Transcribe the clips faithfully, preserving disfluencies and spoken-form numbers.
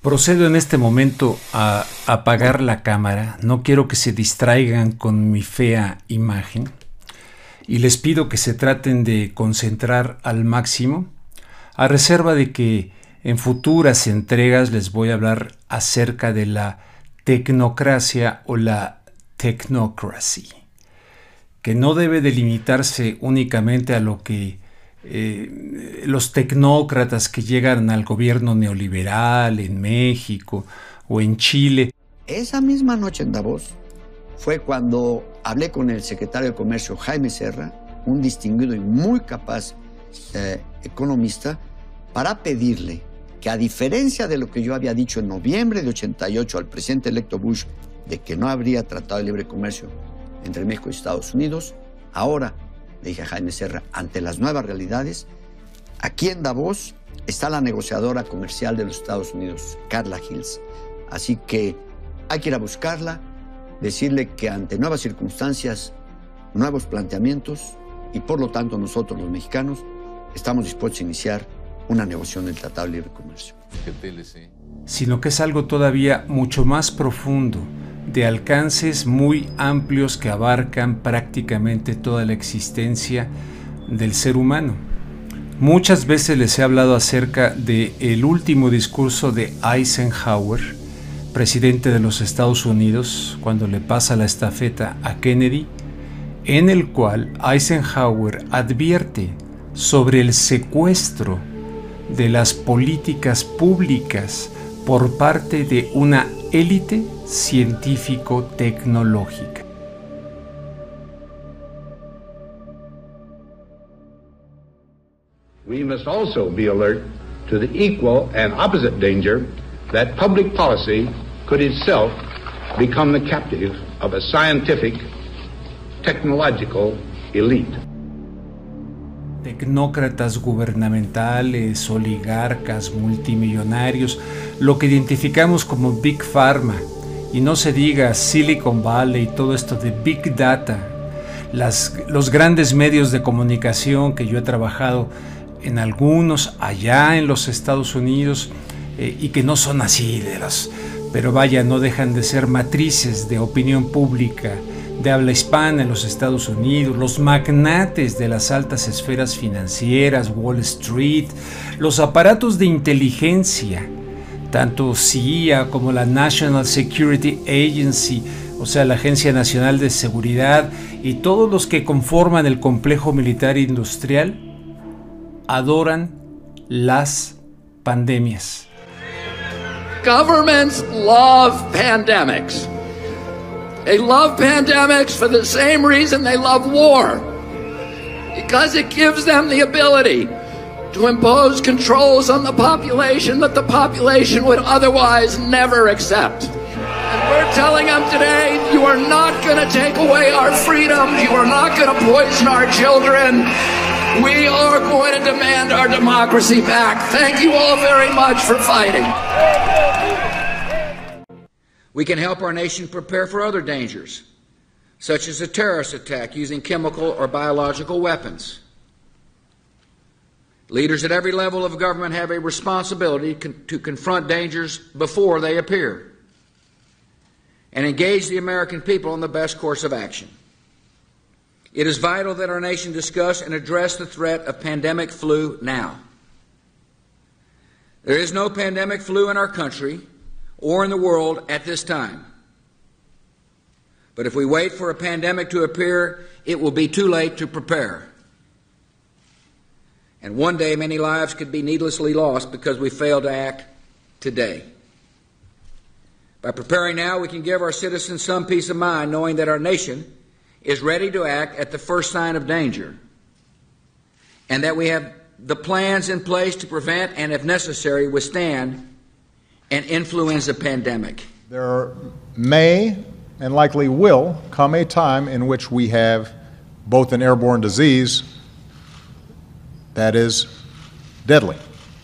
Procedo en este momento a apagar la cámara, no quiero que se distraigan con mi fea imagen y les pido que se traten de concentrar al máximo, a reserva de que en futuras entregas les voy a hablar acerca de la tecnocracia o la technocracy, que no debe delimitarse únicamente a lo que Eh, los tecnócratas que llegan al gobierno neoliberal en México o en Chile. Esa misma noche en Davos fue cuando hablé con el secretario de Comercio Jaime Serra, un distinguido y muy capaz eh, economista, para pedirle que, a diferencia de lo que yo había dicho en noviembre de ochenta y ocho al presidente electo Bush de que no habría tratado de libre comercio entre México y Estados Unidos, ahora le dije a Jaime Serra, ante las nuevas realidades, aquí en Davos está la negociadora comercial de los Estados Unidos, Carla Hills. Así que hay que ir a buscarla, decirle que ante nuevas circunstancias, nuevos planteamientos, y por lo tanto nosotros los mexicanos estamos dispuestos a iniciar una negociación del Tratado de Libre Comercio. Sino que es algo todavía mucho más profundo, de alcances muy amplios que abarcan prácticamente toda la existencia del ser humano. Muchas veces les he hablado acerca del último discurso de Eisenhower, presidente de los Estados Unidos, cuando le pasa la estafeta a Kennedy, en el cual Eisenhower advierte sobre el secuestro de las políticas públicas por parte de una élite científico-tecnológica. We must also be alert to the equal and opposite danger that public policy could itself become the captive of a scientific, technological elite. Tecnócratas gubernamentales, oligarcas, multimillonarios, lo que identificamos como Big Pharma, y no se diga Silicon Valley y todo esto de Big Data, las, los grandes medios de comunicación que yo he trabajado en algunos allá en los Estados Unidos eh, y que no son así de los, pero vaya, no dejan de ser matrices de opinión pública de habla hispana en los Estados Unidos, los magnates de las altas esferas financieras, Wall Street, los aparatos de inteligencia, tanto C I A como la National Security Agency, o sea, la Agencia Nacional de Seguridad, y todos los que conforman el complejo militar industrial, adoran las pandemias. Governments love pandemics. They love pandemics for the same reason they love war, because it gives them the ability to impose controls on the population that the population would otherwise never accept. And we're telling them today, you are not going to take away our freedoms, you are not going to poison our children. We are going to demand our democracy back. Thank you all very much for fighting. We can help our nation prepare for other dangers, such as a terrorist attack using chemical or biological weapons. Leaders at every level of government have a responsibility con- to confront dangers before they appear and engage the American people in the best course of action. It is vital that our nation discuss and address the threat of pandemic flu now. There is no pandemic flu in our country or in the world at this time. But if we wait for a pandemic to appear, it will be too late to prepare. And one day, many lives could be needlessly lost because we failed to act today. By preparing now, we can give our citizens some peace of mind, knowing that our nation is ready to act at the first sign of danger, and that we have the plans in place to prevent and, if necessary, withstand an influenza pandemic. There may and likely will come a time in which we have both an airborne disease that is deadly.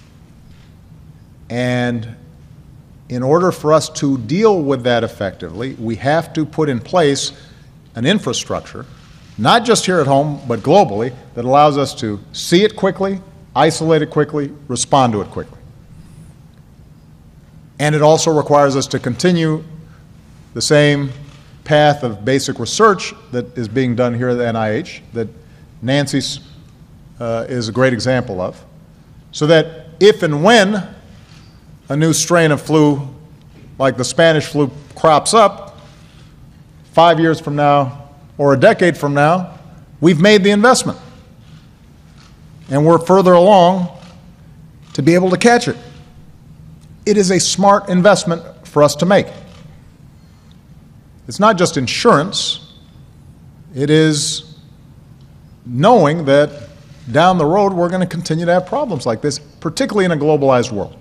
And in order for us to deal with that effectively, we have to put in place an infrastructure, not just here at home, but globally, that allows us to see it quickly, isolate it quickly, respond to it quickly. And it also requires us to continue the same path of basic research that is being done here at the N I H, that Nancy uh, is a great example of, so that if and when a new strain of flu, like the Spanish flu, crops up, five years from now or a decade from now, we've made the investment. And we're further along to be able to catch it. It is a smart investment for us to make. It's not just insurance, it is knowing that down the road we're going to continue to have problems like this, particularly in a globalized world,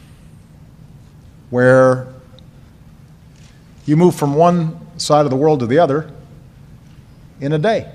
where you move from one side of the world to the other in a day.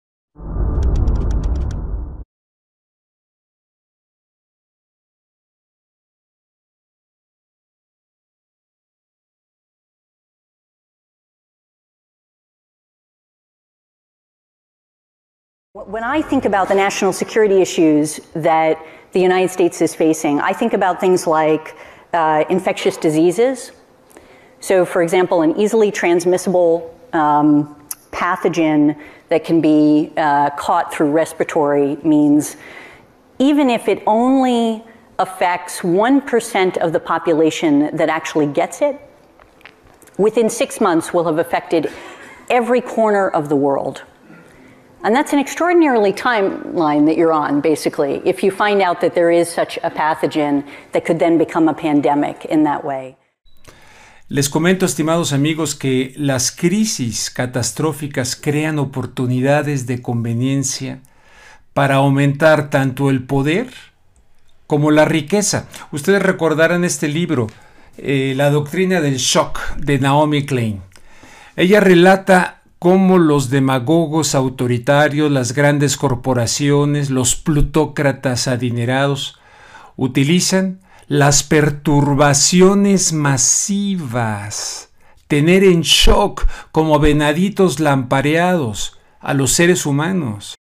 When I think about the national security issues that the United States is facing, I think about things like uh, infectious diseases. So, for example, an easily transmissible um, pathogen that can be uh, caught through respiratory means even if it only affects one percent of the population that actually gets it, within six months will have affected every corner of the world. And that's an extraordinarily timeline that you're on, basically, if you find out that there is such a pathogen that could then become a pandemic in that way. Les comento, estimados amigos, que las crisis catastróficas crean oportunidades de conveniencia para aumentar tanto el poder como la riqueza. Ustedes recordarán este libro, eh, La doctrina del shock, de Naomi Klein. Ella relata cómo los demagogos autoritarios, las grandes corporaciones, los plutócratas adinerados utilizan las perturbaciones masivas, tener en shock como venaditos lampareados a los seres humanos.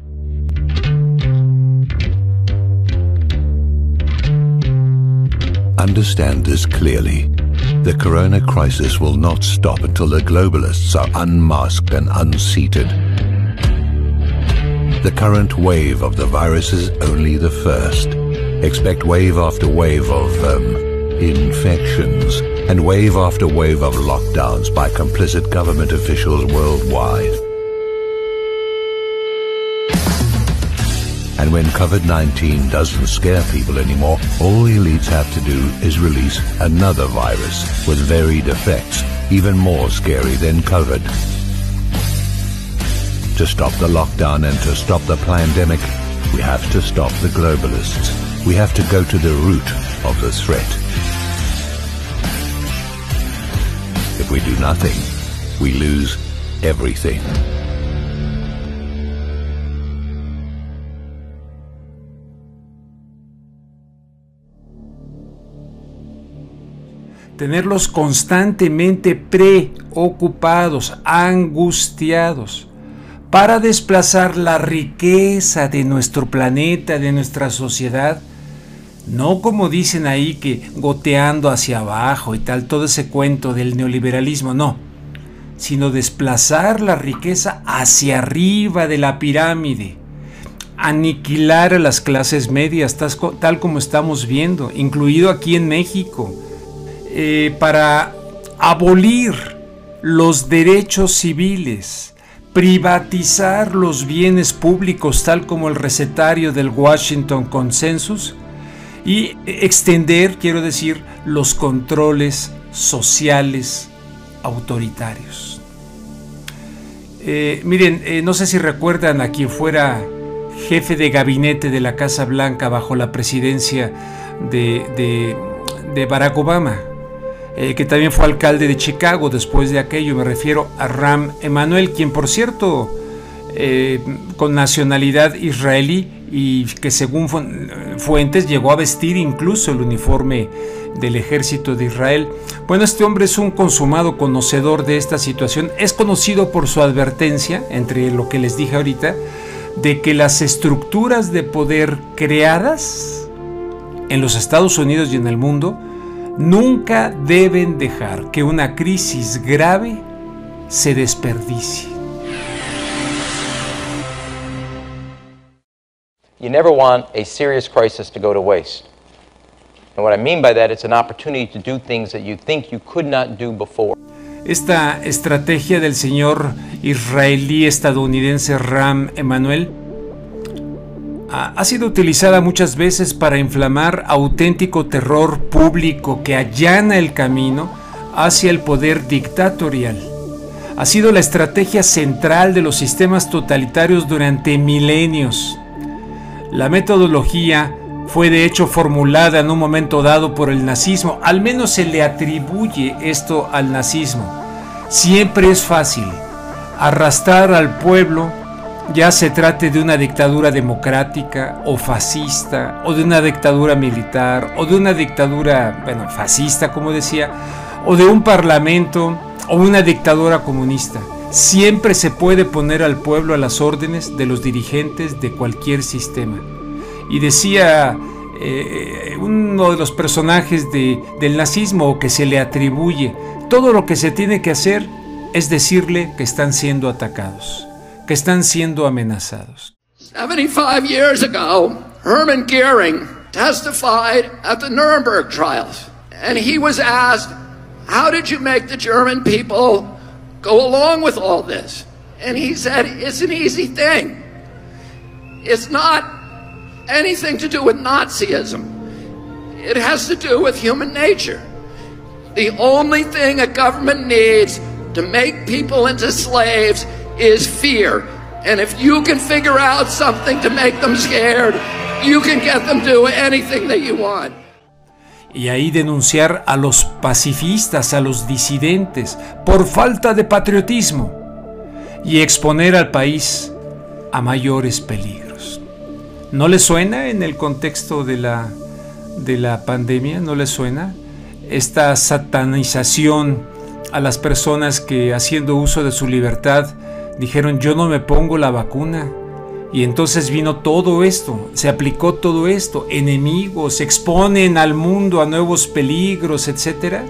Understand this clearly. The corona crisis will not stop until the globalists are unmasked and unseated. The current wave of the virus is only the first. Expect wave after wave of um, infections and wave after wave of lockdowns by complicit government officials worldwide. And when COVID nineteen doesn't scare people anymore, all the elites have to do is release another virus with varied effects, even more scary than COVID. To stop the lockdown and to stop the pandemic, we have to stop the globalists. We have to go to the root of the threat. If we do nothing, we lose everything. Tenerlos constantemente preocupados, angustiados, para desplazar la riqueza de nuestro planeta, de nuestra sociedad, no como dicen ahí que goteando hacia abajo y tal, todo ese cuento del neoliberalismo, no, sino desplazar la riqueza hacia arriba de la pirámide, aniquilar a las clases medias, tal como estamos viendo, incluido aquí en México. Eh, para abolir los derechos civiles, privatizar los bienes públicos tal como el recetario del Washington Consensus y extender, quiero decir, los controles sociales autoritarios. Eh, miren, eh, no sé si recuerdan a quien fuera jefe de gabinete de la Casa Blanca bajo la presidencia de, de, de Barack Obama. Eh, que también fue alcalde de Chicago después de aquello, me refiero a Rahm Emanuel, quien por cierto, eh, con nacionalidad israelí y que según fu fuentes llegó a vestir incluso el uniforme del ejército de Israel. Bueno, este hombre es un consumado conocedor de esta situación, es conocido por su advertencia, entre lo que les dije ahorita, de que las estructuras de poder creadas en los Estados Unidos y en el mundo Nunca deben dejar que una crisis grave se desperdicie. You never want a serious crisis to go to waste. And what I mean by that, it's an opportunity to do things that you think you could not do before. Esta estrategia del señor israelí estadounidense Rahm Emanuel ha sido utilizada muchas veces para inflamar auténtico terror público que allana el camino hacia el poder dictatorial. Ha sido la estrategia central de los sistemas totalitarios durante milenios. La metodología fue de hecho formulada en un momento dado por el nazismo, al menos se le atribuye esto al nazismo. Siempre es fácil arrastrar al pueblo, ya se trate de una dictadura democrática o fascista, o de una dictadura militar, o de una dictadura, bueno, fascista, como decía, o de un parlamento, o una dictadura comunista. Siempre se puede poner al pueblo a las órdenes de los dirigentes de cualquier sistema. Y decía eh, uno de los personajes de, del nazismo que se le atribuye, todo lo que se tiene que hacer es decirle que están siendo atacados, que están siendo amenazados. seventy-five years ago, Hermann Goering testified at the Nuremberg trials, and he was asked, how did you make the German people go along with all this? And he said, it's an easy thing. It's not anything to do with Nazism. It has to do with human nature. The only thing a government needs to make people into slaves is fear. And if you can figure out something to make them scared, you can get them to do anything that you want. Y ahí denunciar a los pacifistas, a los disidentes, por falta de patriotismo, y exponer al país a mayores peligros. ¿No le suena en el contexto de la, de la pandemia? ¿No le suena esta satanización a las personas que, haciendo uso de su libertad, dijeron yo no me pongo la vacuna? Y entonces vino todo esto, se aplicó todo esto, enemigos, exponen al mundo a nuevos peligros, etcétera.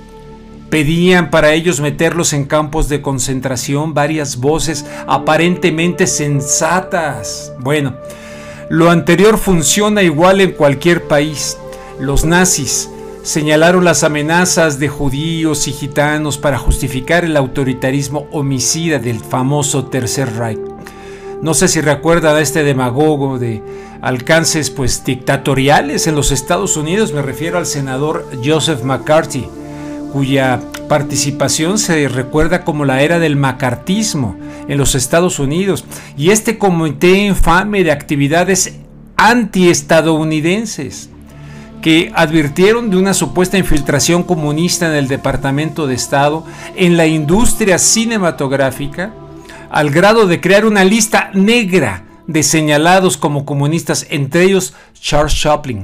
Pedían para ellos meterlos en campos de concentración, varias voces aparentemente sensatas. Bueno, lo anterior funciona igual en cualquier país. Los nazis señalaron las amenazas de judíos y gitanos para justificar el autoritarismo homicida del famoso Tercer Reich. No sé si recuerdan a este demagogo de alcances pues dictatoriales en los Estados Unidos, me refiero al senador Joseph McCarthy, cuya participación se recuerda como la era del macartismo en los Estados Unidos, y este comité infame de actividades antiestadounidenses que advirtieron de una supuesta infiltración comunista en el Departamento de Estado, en la industria cinematográfica, al grado de crear una lista negra de señalados como comunistas, entre ellos Charles Chaplin.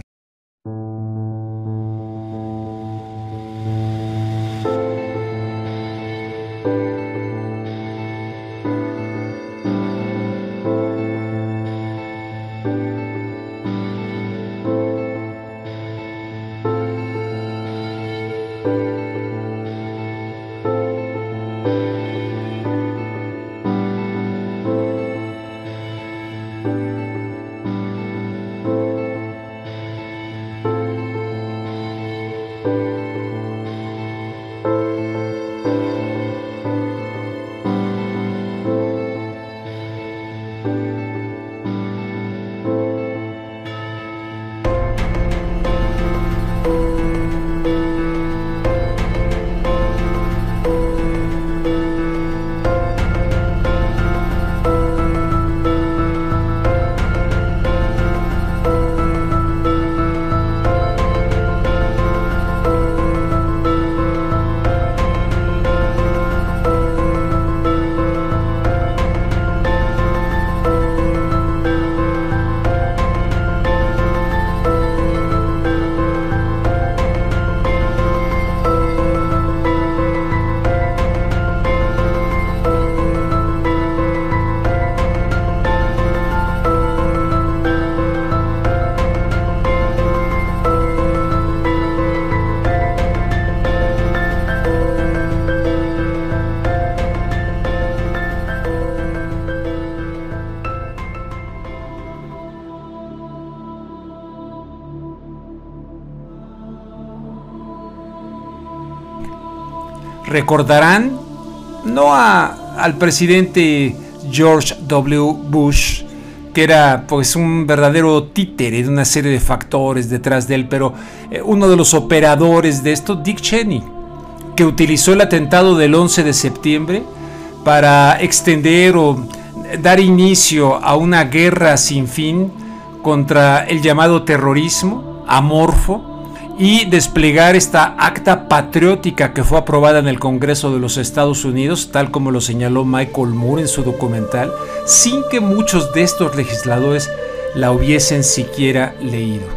Recordarán no a, al presidente George W. Bush, que era pues un verdadero títere de una serie de factores detrás de él, pero eh, uno de los operadores de esto, Dick Cheney, que utilizó el atentado del once de septiembre para extender o dar inicio a una guerra sin fin contra el llamado terrorismo amorfo y desplegar esta acta patriótica que fue aprobada en el Congreso de los Estados Unidos, tal como lo señaló Michael Moore en su documental, sin que muchos de estos legisladores la hubiesen siquiera leído.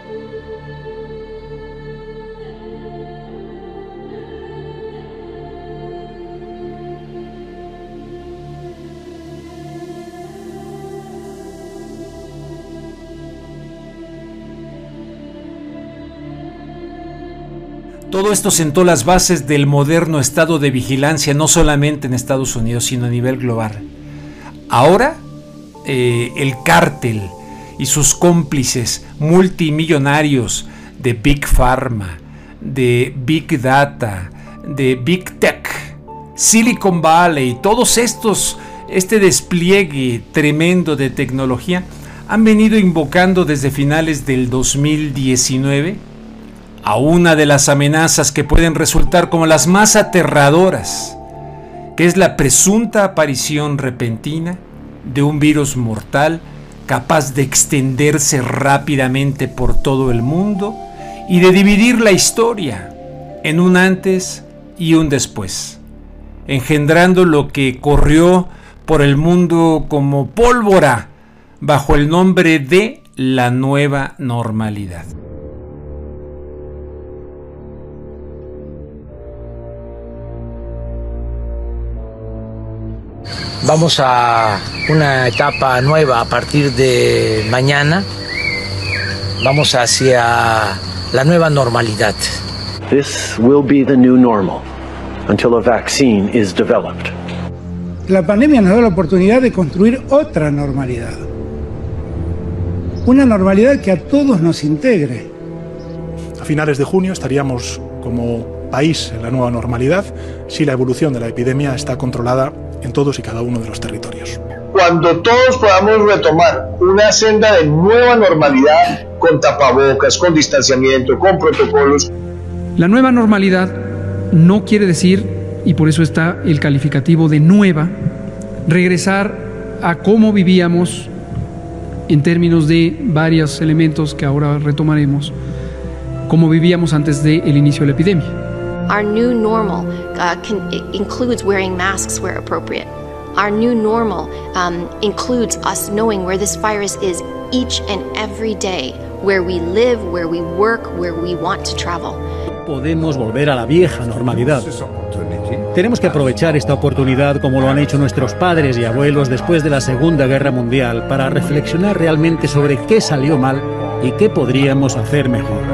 Todo esto sentó las bases del moderno estado de vigilancia, no solamente en Estados Unidos, sino a nivel global. Ahora, eh, el cártel y sus cómplices multimillonarios de Big Pharma, de Big Data, de Big Tech, Silicon Valley, todos estos, este despliegue tremendo de tecnología, han venido invocando desde finales del dos mil diecinueve a una de las amenazas que pueden resultar como las más aterradoras, que es la presunta aparición repentina de un virus mortal capaz de extenderse rápidamente por todo el mundo y de dividir la historia en un antes y un después, engendrando lo que corrió por el mundo como pólvora bajo el nombre de la nueva normalidad. Vamos a una etapa nueva a partir de mañana. Vamos hacia la nueva normalidad. This will be the new normal until a vaccine is developed. La pandemia nos da la oportunidad de construir otra normalidad. Una normalidad que a todos nos integre. A finales de junio estaríamos como país en la nueva normalidad si la evolución de la epidemia está controlada en todos y cada uno de los territorios. Cuando todos podamos retomar una senda de nueva normalidad, con tapabocas, con distanciamiento, con protocolos. La nueva normalidad no quiere decir, y por eso está el calificativo de nueva, regresar a cómo vivíamos en términos de varios elementos que ahora retomaremos, como vivíamos antes del inicio de la epidemia. Our new normal uh, can, includes wearing masks where appropriate. Our new normal um, includes us knowing where this virus is each and every day, where we live, where we work, where we want to travel. Podemos volver a la vieja normalidad. Tenemos que aprovechar esta oportunidad como lo han hecho nuestros padres y abuelos después de la Segunda Guerra Mundial para reflexionar realmente sobre qué salió mal y qué podríamos hacer mejor.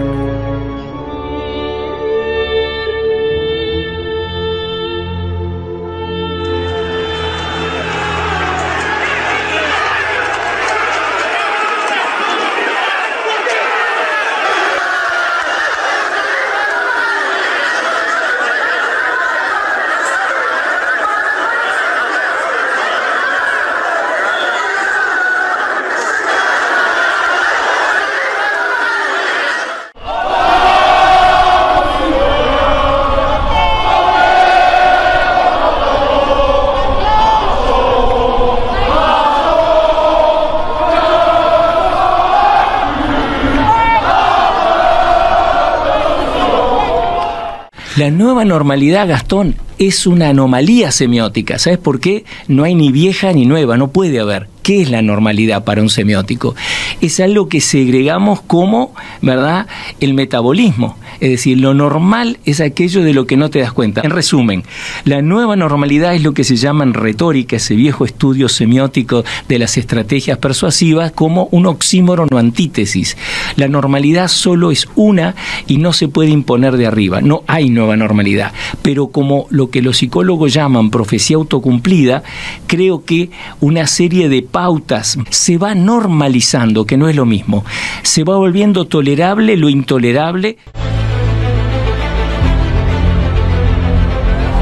La nueva normalidad, Gastón, es una anomalía semiótica. ¿Sabes por qué? No hay ni vieja ni nueva, no puede haber. ¿Qué es la normalidad para un semiótico? Es algo que segregamos como, ¿verdad?, el metabolismo. Es decir, lo normal es aquello de lo que no te das cuenta. En resumen, la nueva normalidad es lo que se llama en retórica, ese viejo estudio semiótico de las estrategias persuasivas, como un oxímoron o antítesis. La normalidad solo es una y no se puede imponer de arriba. No hay nueva normalidad. Pero como lo que los psicólogos llaman profecía autocumplida, creo que una serie de pautas se va normalizando, que no es lo mismo. Se va volviendo tolerable lo intolerable.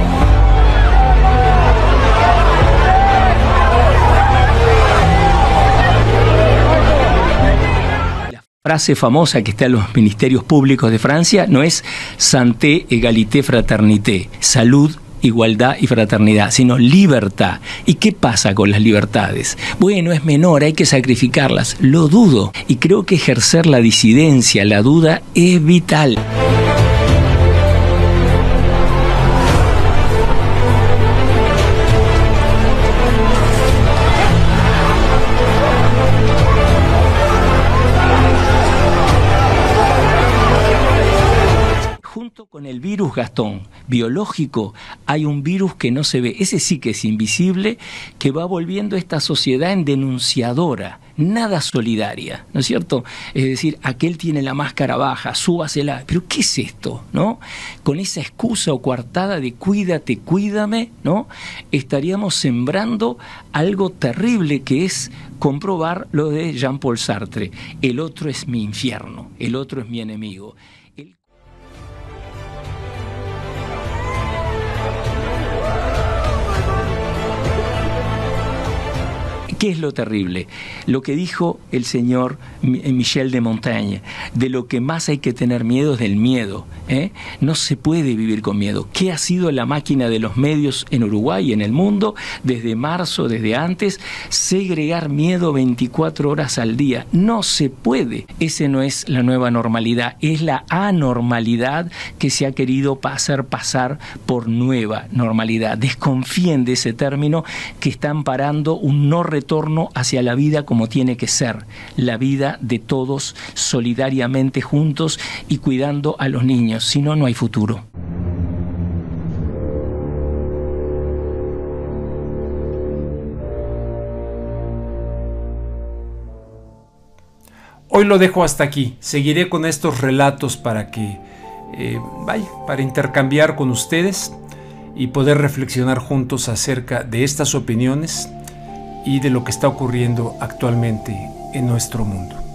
frase famosa que está en los ministerios públicos de Francia no es santé, égalité, fraternité, salud, igualdad y fraternidad, sino libertad. ¿Y qué pasa con las libertades? Bueno, es menor, hay que sacrificarlas. Lo dudo. Y creo que ejercer la disidencia, la duda, es vital. Con el virus, Gastón, biológico, hay un virus que no se ve, ese sí que es invisible, que va volviendo esta sociedad en denunciadora, nada solidaria, ¿no es cierto? Es decir, aquel tiene la máscara baja, súbasela, pero ¿qué es esto? ¿No? Con esa excusa o coartada de cuídate, cuídame, ¿no? Estaríamos sembrando algo terrible que es comprobar lo de Jean-Paul Sartre, el otro es mi infierno, el otro es mi enemigo. ¿Qué es lo terrible? Lo que dijo el señor Michel de Montaigne, de lo que más hay que tener miedo es del miedo, ¿eh? No se puede vivir con miedo. ¿Qué ha sido la máquina de los medios en Uruguay y en el mundo desde marzo, desde antes? Segregar miedo veinticuatro horas al día. No se puede. Ese no es la nueva normalidad, es la anormalidad que se ha querido hacer pasar por nueva normalidad. Desconfíen de ese término que está amparando un no retorno hacia la vida como tiene que ser, la vida de todos solidariamente juntos y cuidando a los niños, si no, no hay futuro. Hoy lo dejo hasta aquí, seguiré con estos relatos para que, eh, vaya, para intercambiar con ustedes y poder reflexionar juntos acerca de estas opiniones y de lo que está ocurriendo actualmente en nuestro mundo.